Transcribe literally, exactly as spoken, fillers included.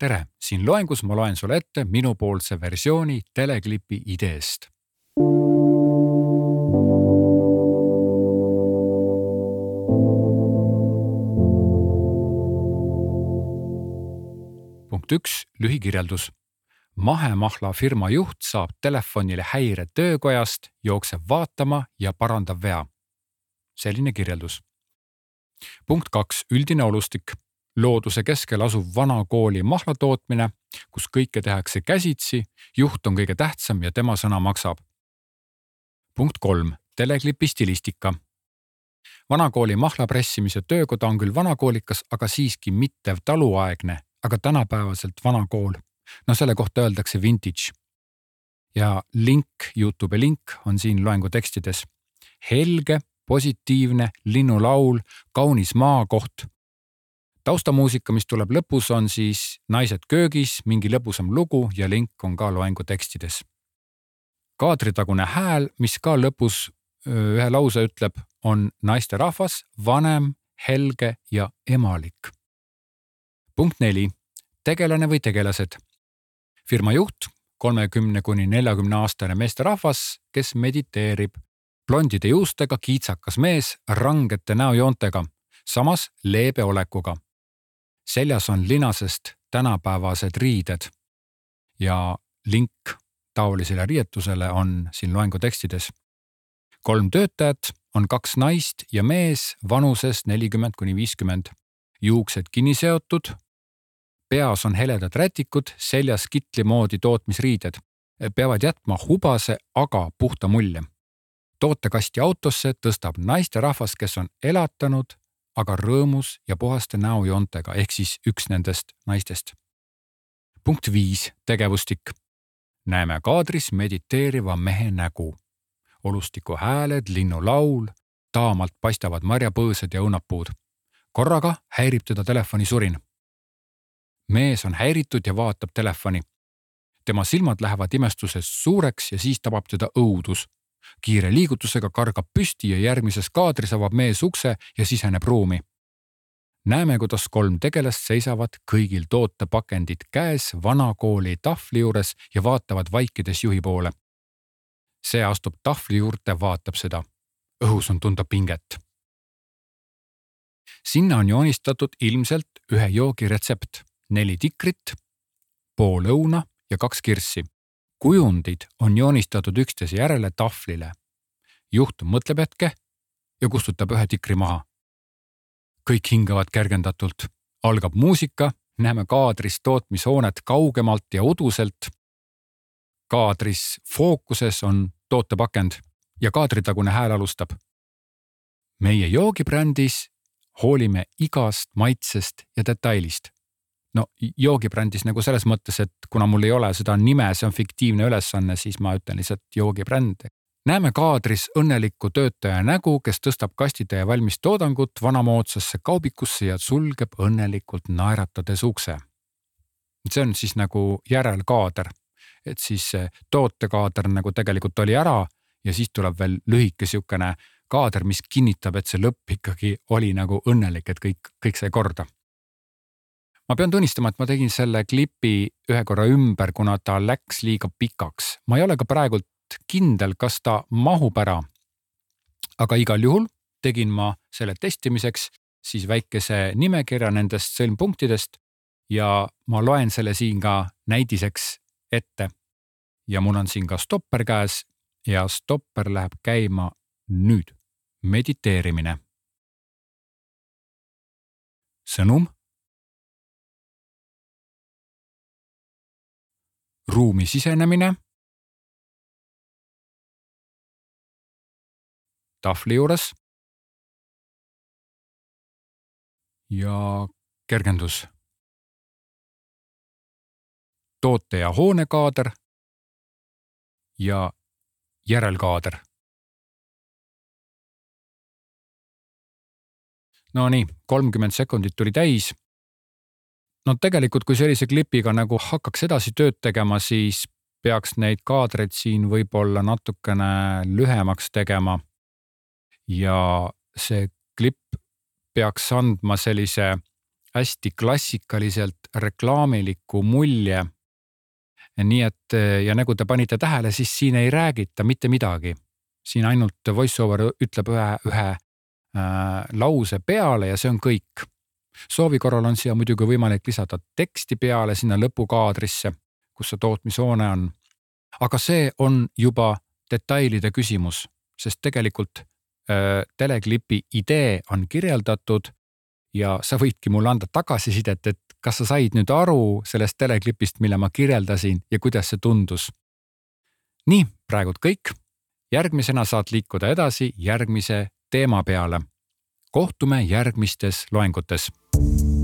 tere, siin loengus ma loen sulle ette minupoolse versiooni teleklipi ideest. Punkt üks, lühikirjeldus. Mahemahla firma juht saab telefonile häire töökojast, jookseb vaatama ja parandab vea. Selline kirjeldus. Punkt kaks, üldine olustik. Looduse keskel asuv vana kooli mahlatootmine, kus kõike tehakse käsitsi, juht on kõige tähtsam ja tema sõna maksab. Punkt kolm, teleklipi stilistika. Vanakooli mahlapressimise töökoda on küll vanakoolikas, aga siiski mitte taluaegne, aga tänapäevaselt vanakool. No selle kohta öeldakse vintage. Ja link, YouTube link on siin loengu tekstides. Helge, positiivne, linnulaul, kaunis maakoht. Taustamuusika, mis tuleb lõpus, on siis naised köögis, mingi lõbusam lugu ja link on ka loengu tekstides. Kaadritagune hääl, mis ka lõpus ühe lause ütleb, on naiste rahvas, vanem, helge ja emalik. Punkt neli. Tegelane või tegelased. Firma juht, kolmekümne kuni neljakümne aastane meesterahvas, kes mediteerib. Blondide juustega kiitsakas mees rangete näojoontega, samas leebe olekuga. Seljas on linasest tänapäevased riided ja link taolisele riietusele on siin loengu tekstides. Kolm töötajat on kaks naist ja mees vanuses nelikümmend kuni viiskümmend. Juuksed kinni seotud. Peas on heledad rätikud, seljas kitli moodi tootmisriided. Peavad jätma hubase, aga puhta mulje. Tootekasti autosse tõstab naiste rahvas, kes on elatanud, aga rõõmus ja puhaste näojoontega, ehk siis üks nendest naistest. Punkt viis, tegevustik. Näeme kaadris mediteeriva mehe nägu. Olustiku hääled, linnulaul, taamalt paistavad marjapõõsed ja õunapuud. Korraga häirib teda telefoni surin. Mees on häiritud ja vaatab telefoni. Tema silmad lähevad imestuses suureks ja siis tabab teda õudus. Kiire liigutusega kargab püsti ja järgmises kaadris avab mees ukse ja siseneb ruumi. Näeme, kuidas kolm tegelast seisavad kõigil tootepakendid käes vanakooli tahvli juures ja vaatavad vaikides juhi poole. See astub tahvli juurde, vaatab seda. Õhus on tunda pinget. Sinna on joonistatud ilmselt ühe joogi retsept. Neli tikrit, pool õuna ja kaks kirssi. Kujundid on joonistatud üksteise järele tahvlile. Juht mõtleb hetke ja kustutab ühe tikri maha. Kõik hingavad kergendatult. Algab muusika, näeme kaadris tootmishoonet kaugemalt ja uduselt. Kaadris fookuses on tootepakend ja kaadritagune hääl alustab. Meie joogibrändis hoolime igast maitsest ja detailist. No joogibrändis nagu selles mõttes, et kuna mul ei ole seda nime, see on fiktiivne ülesanne, siis ma ütlen lihtsalt joogibränd. Näeme kaadris õnnelikku töötaja nägu, kes tõstab kastitäie valmis toodangut vanamoodsasse kaubikusse ja sulgeb õnnelikult naeratades ukse. See on siis nagu järelkaader, et siis tootekaader nagu tegelikult oli ära ja siis tuleb veel lühike siukene kaader, mis kinnitab, et see lõpp ikkagi oli nagu õnnelik, et kõik, kõik sai korda. Ma pean tunnistama, et ma tegin selle klipi ühe korra ümber, kuna ta läks liiga pikaks. Ma ei ole ka praegult kindel, kas ta mahub ära. Aga igal juhul tegin ma selle testimiseks siis väikese nimekirja nendest sõlmpunktidest ja ma loen selle siin ka näidiseks ette. Ja mul on siin ka stopper käes ja stopper läheb käima nüüd. Mediteerimine. Sõnum. Ruumi sisenemine. Tahvli juures. Ja kergendus. Toote ja hoonekaader. Ja järelkaader. No nii, kolmkümmend sekundit tuli täis. No tegelikult, kui sellise klipiga nagu hakkaks edasi tööd tegema, siis peaks neid kaadreid siin võib-olla natukene lühemaks tegema. Ja see klipp peaks andma sellise hästi klassikaliselt reklaamiliku mulje. Nii et ja nagu te panite tähele, siis siin ei räägita mitte midagi. Siin ainult voiceover ütleb ühe, ühe äh, lause peale ja see on kõik. Soovi korral on siia muidugi võimalik lisada teksti peale sinna lõpukaadrisse, kus see tootmishoone on. Aga see on juba detailide küsimus, sest tegelikult äh, teleklipi idee on kirjeldatud ja sa võidki mulle anda tagasisidet, et kas sa said nüüd aru sellest teleklipist, mille ma kirjeldasin ja kuidas see tundus. Nii, praegult kõik. Järgmisena saad liikuda edasi järgmise teema peale. Kohtume järgmistes loengutes.